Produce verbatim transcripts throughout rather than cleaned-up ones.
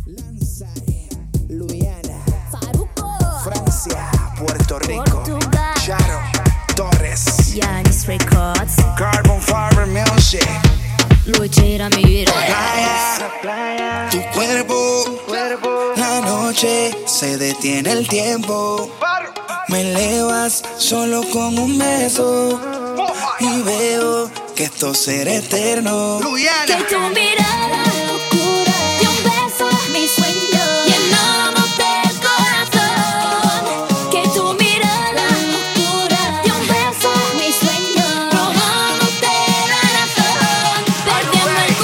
Lanzai, Luiana, Farruko, Francia, Puerto Rico, Portugal, Charo, Torres, Yanis Records, Carbon Fiber Music, Luchi Ramírez. Playa, tu cuerpo, la noche se detiene el tiempo. Me elevas solo con un beso y veo que esto será eterno. Que tu mirada oscura de un beso mi sueño llenándote el corazón. Que tu mirada oscura de un beso mi sueño robándote la razón. Perdiendo el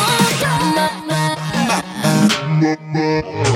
control.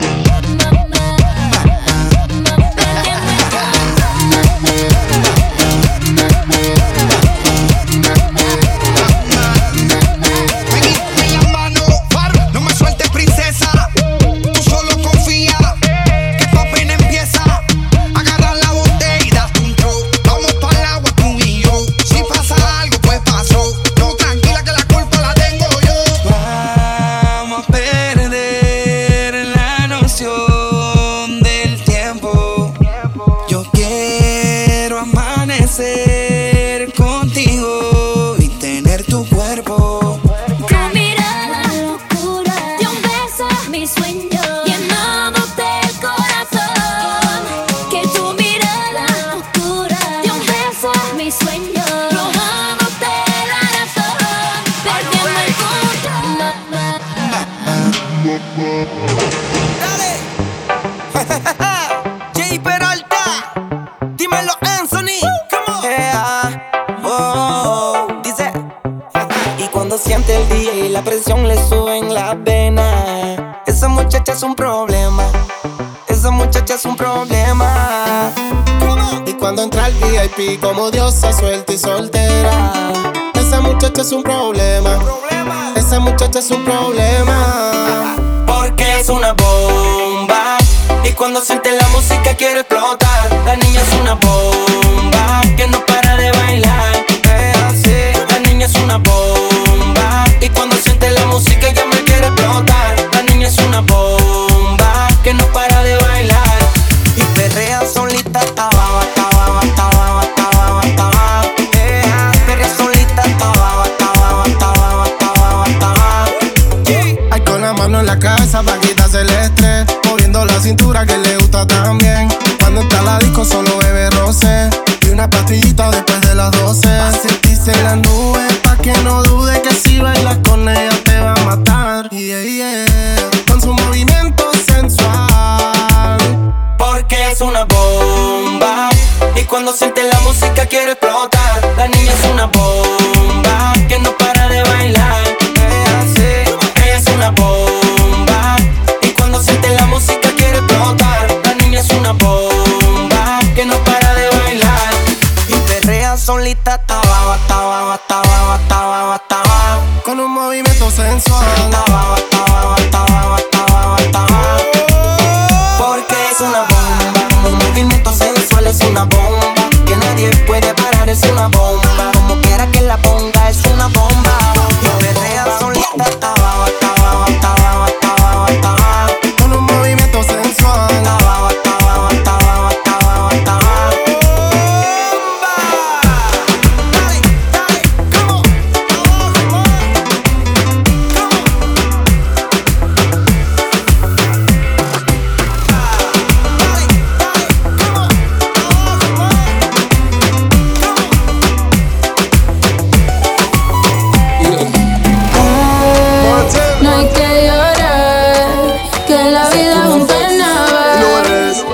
Contigo y tener tu cuerpo. Tu mirada oscura de un beso mi sueño llenándote el corazón. Que tu mirada oscura de un beso mi sueño robándote la razón. Perdiendo el control. Dale. Jay Peralta, dímelo Anthony. Cuando siente el día y la presión le sube en la vena, esa muchacha es un problema. Esa muchacha es un problema. Y cuando entra el V I P como diosa suelta y soltera, esa muchacha es un problema. Esa muchacha es un problema. Porque es una bomba. Y cuando siente la música quiere explotar. La niña es una bomba que no para de bailar. Es así. La niña es una bomba. Y cuando siente la música ella me quiere explotar. La niña es una bomba que no para de bailar. Y perrea solita, tababa, tababa, tababa, tababa, tababa. Yeah. Perrea solita, tababa, tababa, tababa, tababa, tababa. Yeah. Hay con la mano en la cabeza pa' quitarse el estrés, moviendo la cintura que le gusta también. Cuando está la disco solo bebe roce y una pastillita después de las doce. Pa' sentirse en las nubes, pa' que no dude que si bailas con ella te va a matar. Yeah, yeah. Con su movimiento sensual. Porque es una bomba. Y cuando siente la música quiere explotar. La niña es una bomba que no para de bailar. Es así. Ella es una bomba. Y cuando siente la música quiere explotar. La niña es una bomba que no para de bailar. Y perrea solita, tababa, tababa, tababa, tababa, tababa. Con un movimiento sensual. Tababa, tababa, tababa, tababa, tababa. Porque es una bomba. Un movimiento sensual es una bomba. Que nadie puede parar, es una bomba. Como quiera que la ponga, es una bomba. Y perrea solita, tababa, tababa, tababa, tababa, tababa. Con un movimiento sensual. Tababa, tababa, tababa, tababa, tababa. Dale, dale, come on. Abajo, No hay que llorar, que la vida es un carnaval.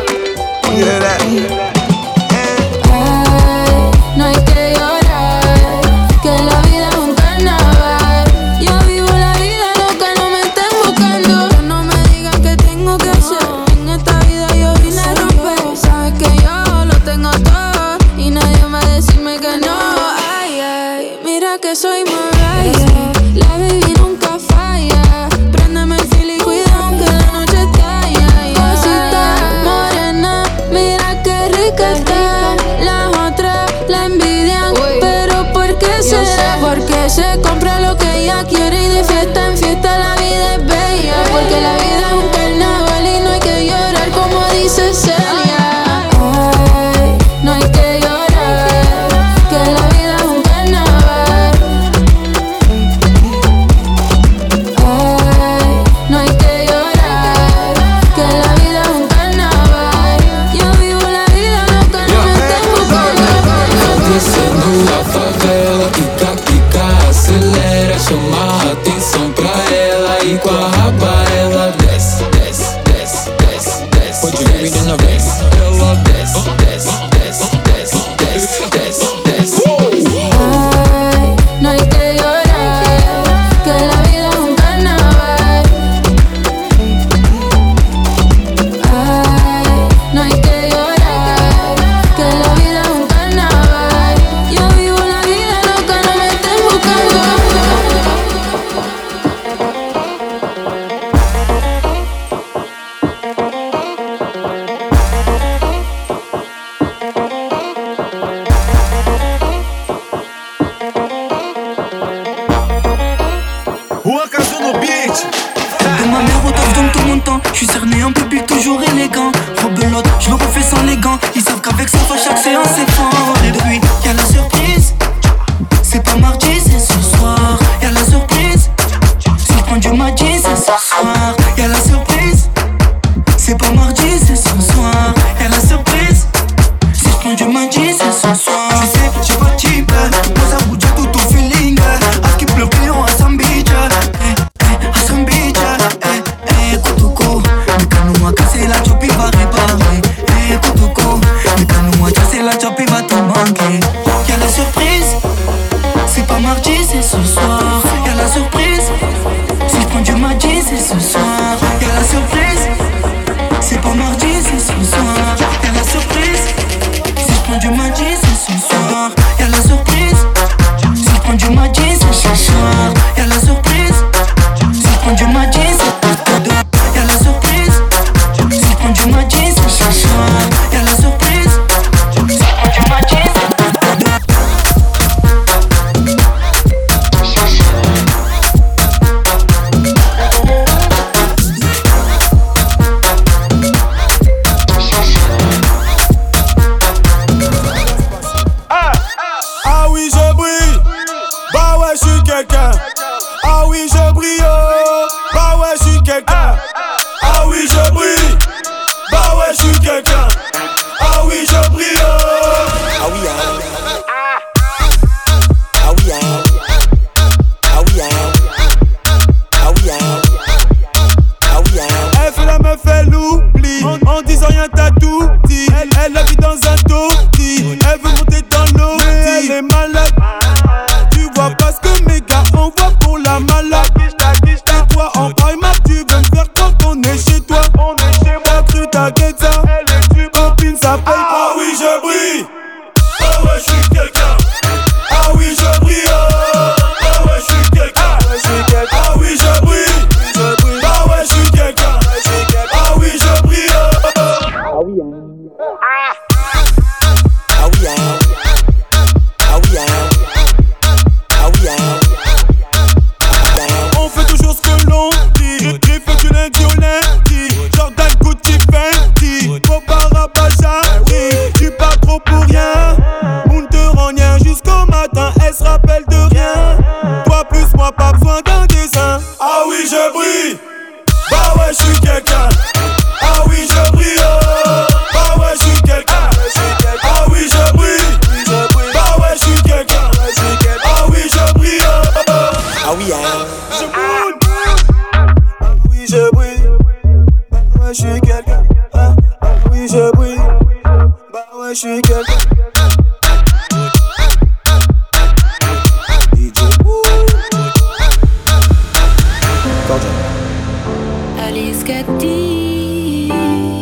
Ay, no hay que llorar, que la vida es un carnaval. Yo vivo la vida loca, no me estén buscando. No me digan qué tengo que hacer. En esta vida yo vine a romper. Sabes que yo lo tengo todo y nadie va a decirme que no. Ay, ay, mira que soy Mariah. La baby nunca falla. Préndeme el fil y cuidado que la noche estalla. Cosita morena, mira qué rica está. Las otras la envidian, pero ¿por qué será? Porque se compra lo que ella quiere y de fiesta en fiesta la vida es bella. Porque la vida es un carnaval. Yo bitch. De ma mère au top donne tout mon temps. J'suis cerné un peu puis toujours élégant. Rebelote, j'le refais sans les gants. Ils savent qu'avec ça, chaque séance c'est fort. Et depuis, y'a la surprise. C'est pas mardi, c'est ce soir. Y'a la surprise. Si je prends du mardi, c'est ce soir. Y'a la surprise. C'est pas mardi, c'est ce soir. Y'a la surprise. Si je prends du mardi, c'est ce soir. Tu sais, j'ai pas de type. Moi ça bouge tout au feeling. À qui pleut client à Sam Beach. Eh, eh, à Sam Beach. Eh, eh, Kotoko. Mais quand nous m'a cassé la job, il va réparer. Eh, Kotoko. Mais quand nous m'a cassé la job, il va te manquer. Y'a la surprise. C'est pas mardi, c'est ce soir. Y'a la surprise. Si je prends du mardi, c'est ce soir. Y'a la surprise. C'est pas mardi, c'est ce soir. Y'a la surprise. Si je prends du mardi, c'est ce soir. Y'a la surprise. Si je prends du mardi, c'est ce soir. Y'a la surprise. Si je prends du mardi, c'est ce soir. Y'a la surprise. Si je prends du mardi, c'est ce soir. Y'a la surprise. Si je prends du mardi, c'est ce soir. Ah oui je brille, oh. Bah ouais je suis quelqu'un. Ah oui je brille, bah ouais je suis quelqu'un. Ah oui je brille, oh. Ah oui ah. Ah oui ah. Ah oui ah. Ah oui ah. Ah oui ah. Elle fait la meuf elle oublie en, en disant rien t'as tout dit. Elle, elle habite dans un taudis. Elle veut monter dans l'eau. Elle est malade. Tu vois pas ce que mes gars envoient pour la malade. Et toi en primaire tu veux me faire croire qu'on est chez toi. T'as cru t'inquiète ça. Copine ça paye pas. Ah oui je brille. Ah ouais je suis quelqu'un. Ah oui je brille. Ah ouais je suis quelqu'un. Ah oui je brille. Ah ouais je suis quelqu'un. Ah oui je brille. Ah oui ah. Ah oui ah. Ah oui ah. Ah oui ah. On fait toujours ce que l'on dit. J'ai fait du lundi au lundi. Jordan, Gucci, Fendi. Popara, Bajari. Tu parles trop pour rien. On ne te rend rien jusqu'au matin. Elle se rappelle de rien. Toi plus moi, pas besoin d'un dessin. Ah oui, je brille. Bah ouais, je suis quelqu'un. Ah oui, je brille. Bah ouais, je suis quelqu'un. Ah oui, je brille. Bah ouais, je suis quelqu'un. Ah oui, je brille. Ah oui ah. Je brûle. Ah oui je brille. Bah ouais je suis quelqu'un. Ah, ah oui je brille. Bah ouais je suis quelqu'un. D J Alice Cathy.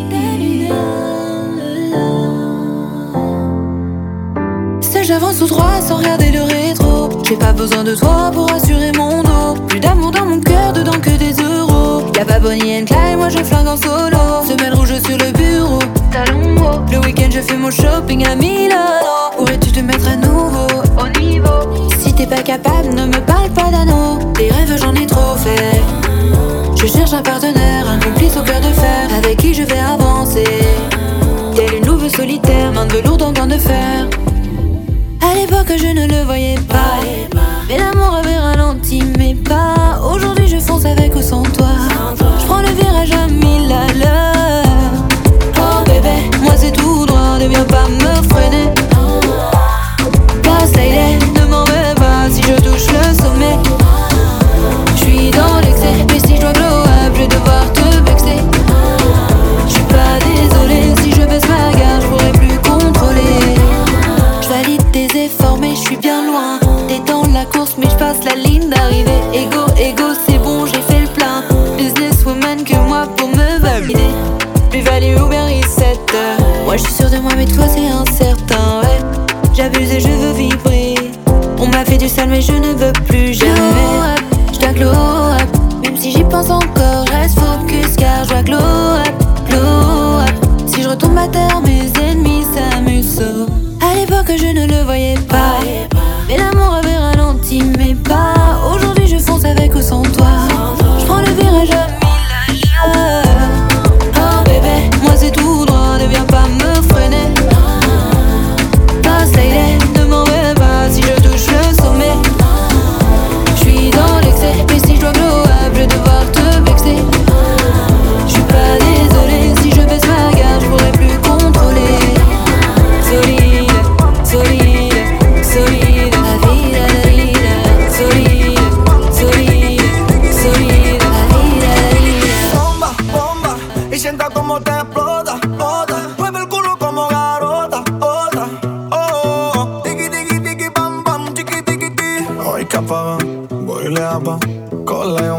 Si j'avance tout droit sans regarder le rétro. J'ai pas besoin de toi pour assurer mon dos. Plus d'amour dans mon cœur, dedans que des euros. Y'a pas Bonnie and Clyde, moi je flingue en solo. Semelle rouge sur le bureau, talons hauts. Le week-end je fais mon shopping à Milano. Pourrais-tu te mettre à nouveau au niveau? Si t'es pas capable, ne me parle pas d'anneau. Des rêves j'en ai trop fait. Je cherche un partenaire, un complice au cœur de fer, avec qui je vais avancer. Telle une louve solitaire, main de velours dans gants de fer. À l'époque je ne le voyais pas, mais l'amour avait ralenti mes pas. Aujourd'hui je fonce avec ou sans toi. Je prends le virage à mille à l'heure. Oh bébé, moi c'est tout droit, ne viens pas me freiner. Passe lady, ne m'en veux pas si je touche le sommet. J'suis dans l'excès, mais si je dois glow up, je vais devoir te vexer. J'suis pas désolé, si je baisse ma garde, j'pourrais plus contrôler. J'valide tes efforts mais j'suis bien loin. T'es dans la course mais j'passe la ligne d'arrivée. Ego, ego, c'est bon, j'ai fait le plein. Businesswoman que moi pour me valider. Plus value Uber reset. Moi j'suis sûre de moi mais toi c'est incertain, ouais. J'abuse et je veux vibrer. On m'a fait du sale mais je ne veux plus jamais. J'dois glow up, même si j'y pense encore, j'reste focus car j'dois glow up, glow up. Si je retombe à terre, mes ennemis s'amusent. À l'époque je ne le voyais pas, mais l'amour avait ralenti mes pas. Aujourd'hui je fonce avec ou sans toi.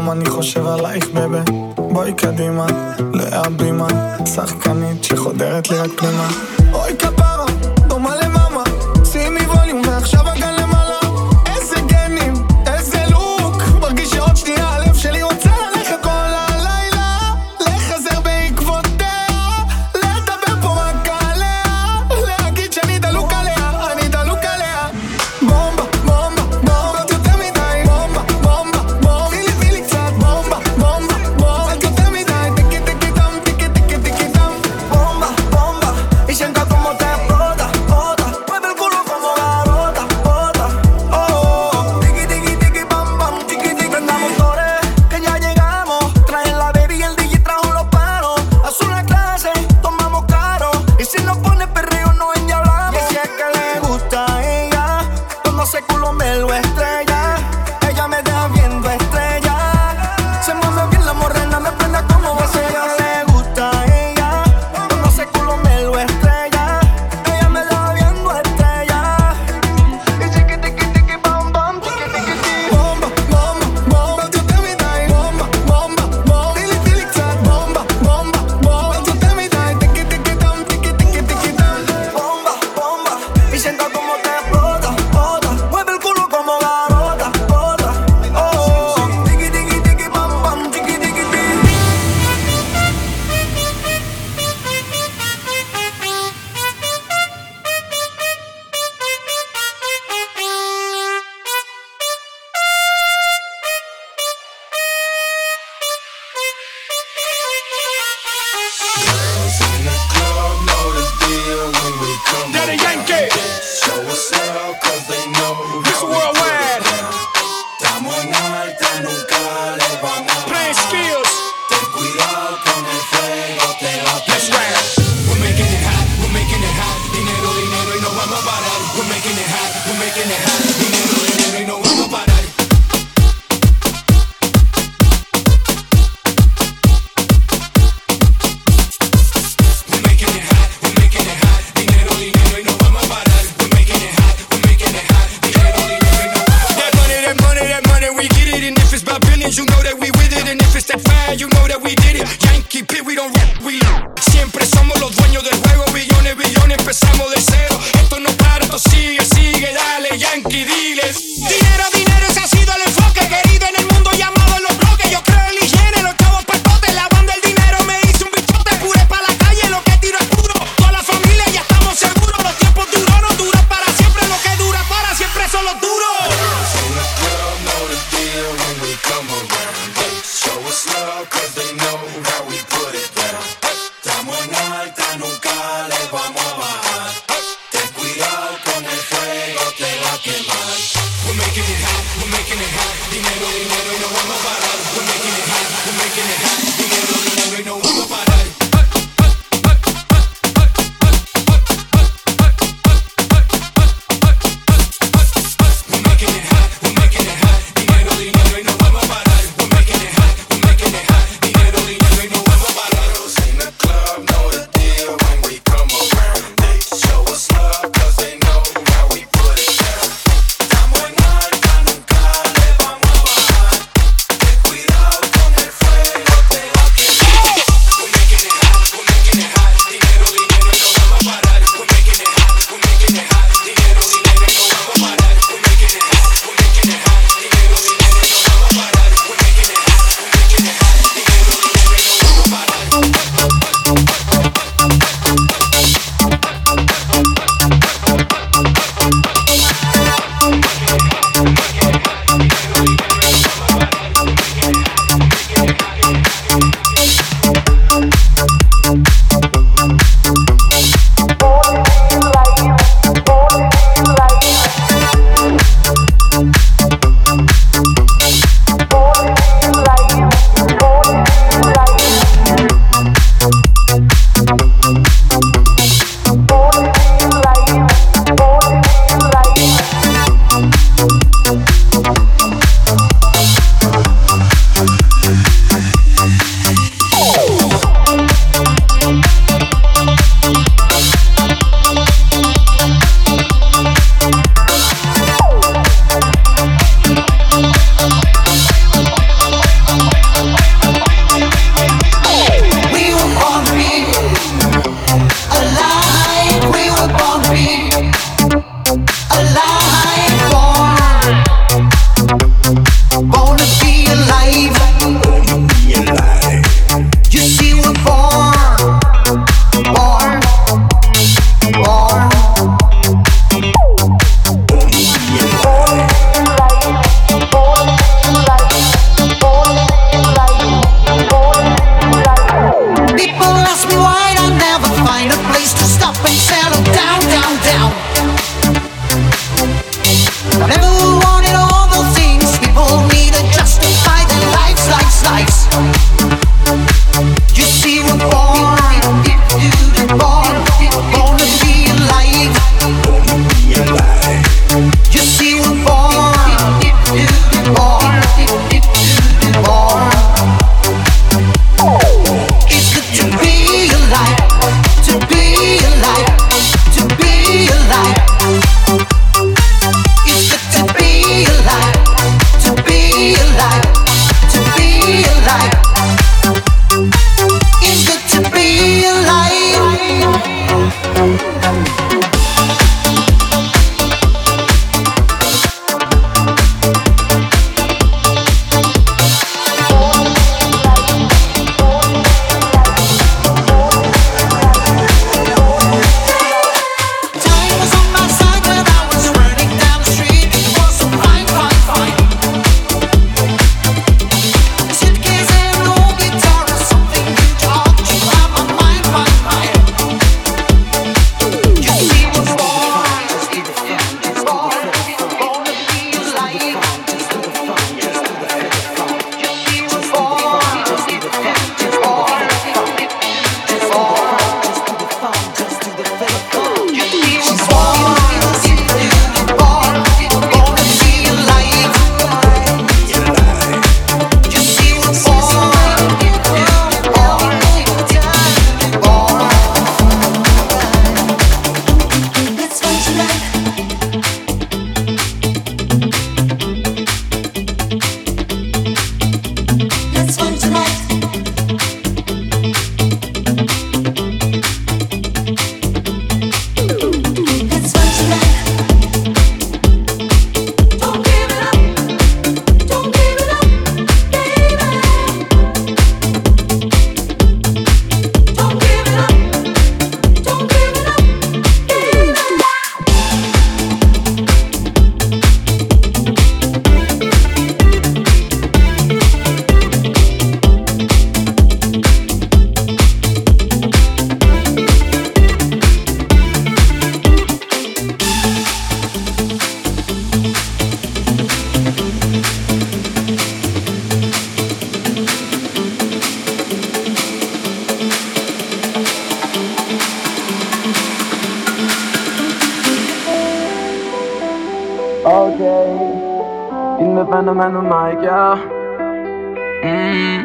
היום אני חושב עלייך בבה. בואי קדימה, להבימה, שחקנית שחודרת לי רק פנימה. אוי כפרה, דומה למאמה, שימי ווליום ועכשיו הגן למעלה. איזה גנים, איזה לוק, מרגיש שעוד שנייה הלב שלי רוצה ללכת כל הלילה, לחזר בעקבותיה, לדבר פה רק עליה, להגיד שאני דלוק עליה, אני דלוק עליה. בומבה, בומבה, בומבה, את יותר מדי. בומבה, בומבה, בומבה, תני לי, תני לי קצת. בומבה, בומבה, בומבה, את יותר מדי. טיקי טיקי טם, טיקי טיקי טיקי טם. בומבה, בומבה, y sienta como te explota, explota. Mueve el culo como garota, bota. Oh, oh, tiki tiki tiki pam pam, tiki tiki. Prenda motores, que ya llegamos. Traen la baby y el D J trajo los paros. Azul la clase, tomamos caro. Y si nos pone perreo no endiablamos. Y si es que le gusta a ella, cuando ese culo me lo estrella, ella me deja viendo estrella. Se mueve bien la morena, me prende como va. Si a ella le gusta a ella, cuando ese culo me lo estrella, ella me deja viendo estrella. Y tiki tiki tiki bam bam, tiki tiki tiki. Bomba, bomba, bomba, tú te me das. Bomba, bomba, bomba, tili tili cat. Bomba, bomba, bomba, tú te me das. Tiki tiki tam, tiki tiki tiki tam. Bomba, bomba, y sienta como te explota, explota. Mueve el culo como garota, bota. Oh, oh, tiki tiki tiki bam bam, tiki tiki tiki. Daddy Yankee, Miss Worldwide, Playing Skills. Let's rap. We're making it hot, we're making it hot. Dinero, dinero y no vamos a parar. We're making it hot, we're making it hot. Dinero, dinero y no vamos a parar. We're making it hot, we're making it hot. Dinero, dinero y no vamos a parar. We're making it hot, we're making it hot. Dinero, dinero y no vamos a parar. That money, that money, that money, we get it. And if it's about billions, you know that we with it. And if it's that fire, you know that we did it. Yankee P, we don't rap, we siempre somos los dueños del juego. Billones, billones, empezamos de cero. Esto no para, esto sigue, sigue, dale, Yankee, diles. Dinero, dinero, ese ha sido el enfoque. Querido en el mundo llamado en los bloques. Yo creo en la higiene, los chavos pastotes. Lavando el dinero me hice un bichote. Pure pa' la calle, lo que tiro es puro. Toda la familia ya estamos seguros. Los tiempos duros no duran para siempre. Lo que dura para siempre son los duros. We're making it hot, we're making it hot. Dinero, dinero y no vamos a parar. We're making it hot, we're making it hot. Dinero, dinero y no vamos a parar. We're making it hot, we're making it hot. Dinero, dinero y no vamos a parar. We're making it hot, we're making it hot. Dinero, dinero y no vamos a parar. In the club, know the deal when we come around. They show us love 'cause they know how we put it down. Estamos en alta, nunca le vamos a bajar. Ten cuidado con el fuego, te man, oh man, oh my God. Mm.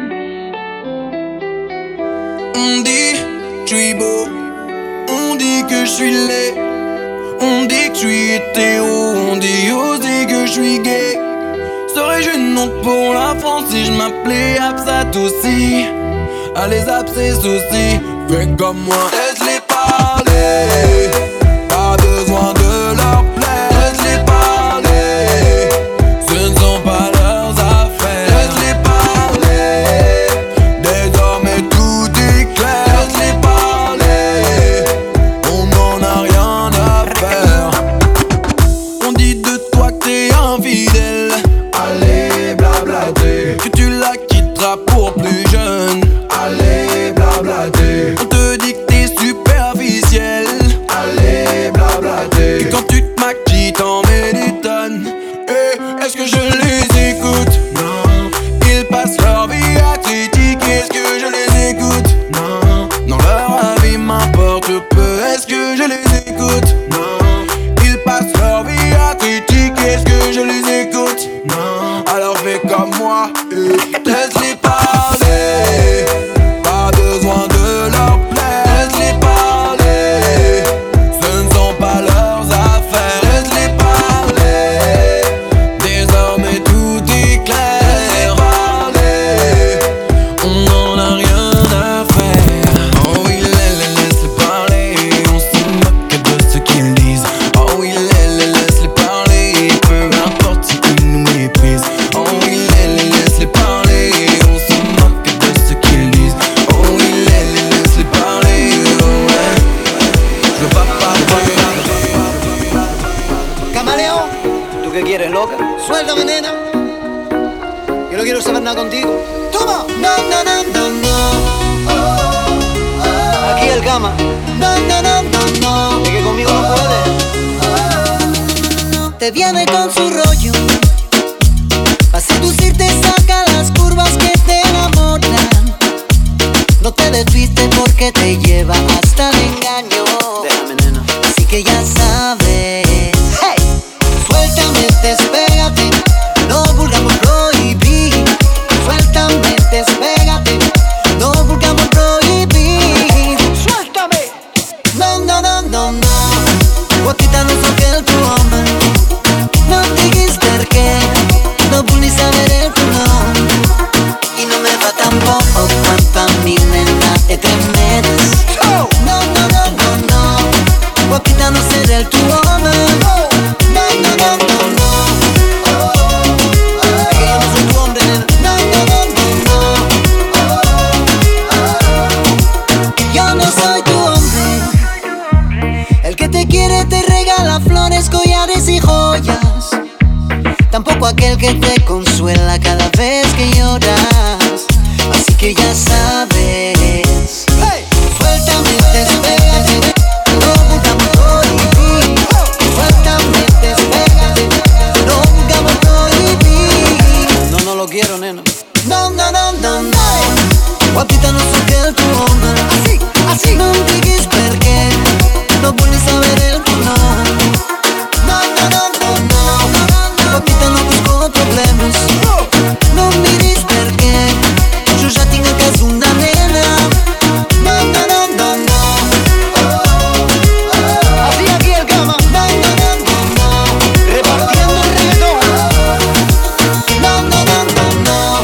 On dit que je suis beau, on dit que je suis laid, on dit que je suis hétéro, on dit aussi que je suis gay. Serais-je une honte pour la France si je m'appelais Absat aussi? Allez zap ces soucis, fais comme moi, laisse-les parler. Pas besoin de leur plaire, laisse-les parler. Ce ne sont pas leurs affaires, laisse-les parler. Désormais tout est clair, laisse-les parler. On n'en a rien à faire. On dit de toi que t'es infidèle, allez blablater. Que tu la quitteras pour plus jeune, allez blablater. On te dit que t'es superficiel, allez blablater. Et quand tu te maquilles t'en mets des tonnes. Eh, est-ce que je les écoute? Non. Ils passent leur vie à critiquer. Est-ce que je les écoute? Non. Non, leur avis m'importe peu. Est-ce que je les écoute? Non. Ils passent leur vie à critiquer. Est-ce que je les écoute? Non. Alors fais comme moi, eh. Laisse-les parler. Pas besoin de leur plaire, laisse-les parler. Ce ne sont pas leurs affaires, laisse-les parler. Désormais tout est clair, laisse-les parler. On n'en a rien à faire. Oh oui, laisse-les parler. On se moque de ce qu'ils disent. Oh oui, laisse-les parler. Peu importe si ils nous méprisent. Oh oui, laisse-les parler. On se moque de ce qu'ils disent. Oh oui, laisse-les parler. Oh ouais. Je veux pas parler. Camaleón, ¿tú qué quieres, loca? Suéltame, nena. Yo no quiero saber nada contigo. ¡Toma! No, no, no, no, no. Oh, oh. Aquí el cama. No, no, no, no, no. Es que conmigo no puedes. Oh, oh. Te viene con su rollo. Pa' seducirte saca las curvas que te enamoran. No te desviste porque te lleva hasta el engaño. Déjame, nena. Así que ya sabes. Hey. Suéltame, despégate. No vulgamos prohibir. Suéltame, despégate. No vulgamos prohibir. Suéltame. No, no, no, no, no. Guapita no so que el tu hombre. No diguis perché. No vull saber el tu nom. Y no me va tampoco cuanto a mi nena te tremedes. No, no, no, no, no. Guapita no ser el tu hombre. No, no, no, no, no, no. Oh, oh, oh. Es que yo no soy tu hombre, nena. No, no, no, no, no. Oh, oh. Yo no soy tu hombre. El que te quiere te regala flores, collares y joyas. Tampoco aquel que te consuela cada vez que lloras. Así que ya sabes. Hey. Suéltame, despégate. No buscamos prohibir. Suéltame, despégate. No buscamos prohibir. No, no lo quiero, nena. No, no, no, no, no. Guapita no soy que el tu hombre. Así, así. No diguis perché. No vull saber el tu nom. No, no, no, no, no. Guapita no busco problemes. No miris perché. Jo ja tinc a casa una nena. No, no, no, no, no. Oh, oh, oh. Así aquí el cama. No, no, no, no, no. Repartiendo el reggaetón. No, no, no, no, no.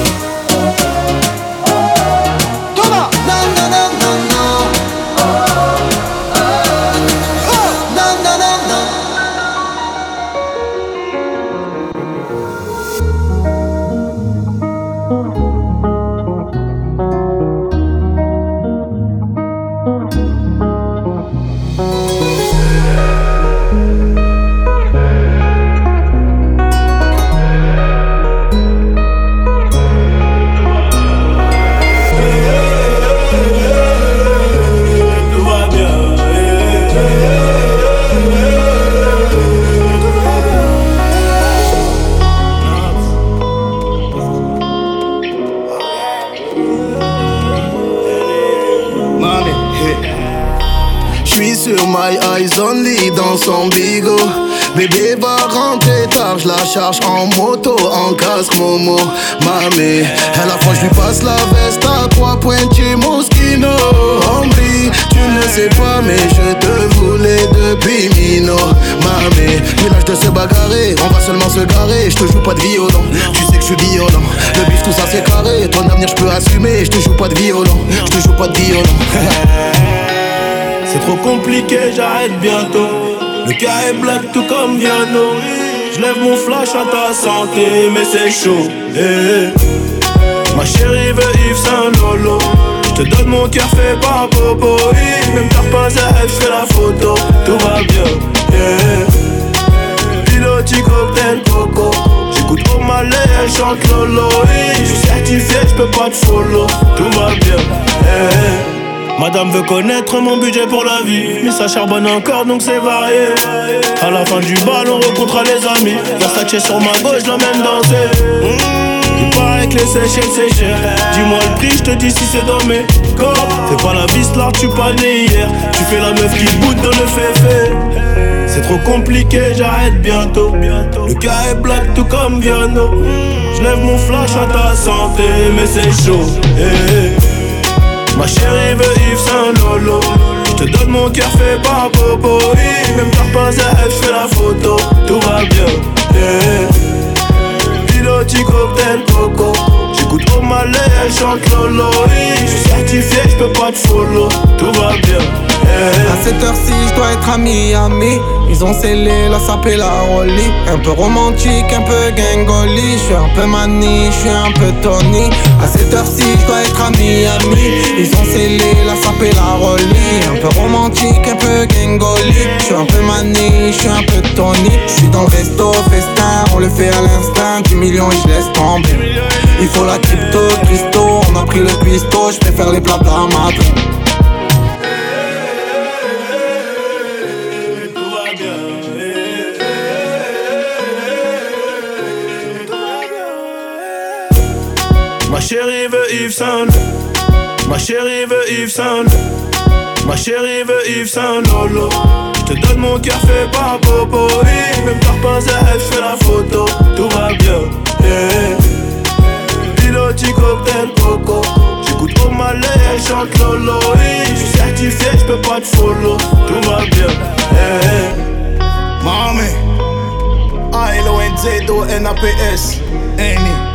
Toma. No, no, no, no, no. Oh, oh. No, no, no, no. J'suis sur my eyes only dans son bigot. Bébé va rentrer tard, je la charge en moto, en casque Momo. Mamé, à la fois je lui passe la veste à trois pointiers Moschino. Hombre, tu ne sais pas mais je te voulais depuis Mino. Mamé, village de se bagarrer, on va seulement se garer. Je te joue pas de violon, tu sais que je suis violent. Le bif tout ça c'est carré, ton avenir je peux assumer. Je te joue pas de violon, je te joue pas de violon. C'est trop compliqué, j'arrête bientôt. Le cas est black tout comme Viano. J'lève mon flash à ta santé, mais c'est chaud. Hey. Ma chérie veut Yves Saint Lolo. J'te donne mon cœur fait par Bobo. Même t'as pas à j'fais la photo. Tout va bien. Yeah. Piloti cocktail coco. J'écoute au malais, elle chante Lolo. J'suis certifié, j'peux pas te follow. Tout va bien. Yeah. Madame veut connaître mon budget pour la vie, mais ça charbonne encore donc c'est varié. À la fin du bal on rencontrera les amis. Versace sur ma gauche, je l'emmène danser. mmh, Il paraît que les Seychelles c'est cher. Dis-moi le prix, je te dis si c'est dans mes corps. Fais pas la bise là, tu pas né hier. Tu fais la meuf qui boude dans le féfé. C'est trop compliqué, j'arrête bientôt. Le cas est black tout comme Viano. J'lève mon flash à ta santé, mais c'est chaud. hey. Ma chérie veut Yves Saint Lolo. J'te donne mon cœur fait par Bobo. Même t'as pas à j'fais la photo. Tout va bien. Yeah. Piloti cocktail coco. J'écoute au malais, elle chante Lolo. J'suis certifié, j'peux pas te follow. Tout va bien. Yeah. À cette heure-ci, j'dois être à Miami. Ils ont scellé la sape et la rollie. Un peu romantique, un peu gangoli. J'suis un peu mani, j'suis un peu Tony. À cette heure-ci, j'dois être à Miami. Ils ont scellé la sape et la rollie. Un peu romantique, un peu gangoli. J'suis un peu mani, j'suis un peu Tony. J'suis dans le resto, festin, on le fait à l'instinct. dix millions et j'laisse tomber. Il faut la crypto, Christo. On a pris le cuistot, j'préfère les plats à Madrid. Ma chérie veut Yves Saint. Ma chérie veut Yves Saint. Ma chérie veut Yves Saint Lolo. J'te donne mon cœur fait par Bobo. Même t'as pas à j'fais la photo. Tout va bien. Yeah. Piloti cocktail coco. J'écoute au malais, elle chante Lolo. J'suis certifié, j'peux pas te follow. Tout va bien. Yeah. Mami, A L O N Z O N A P S N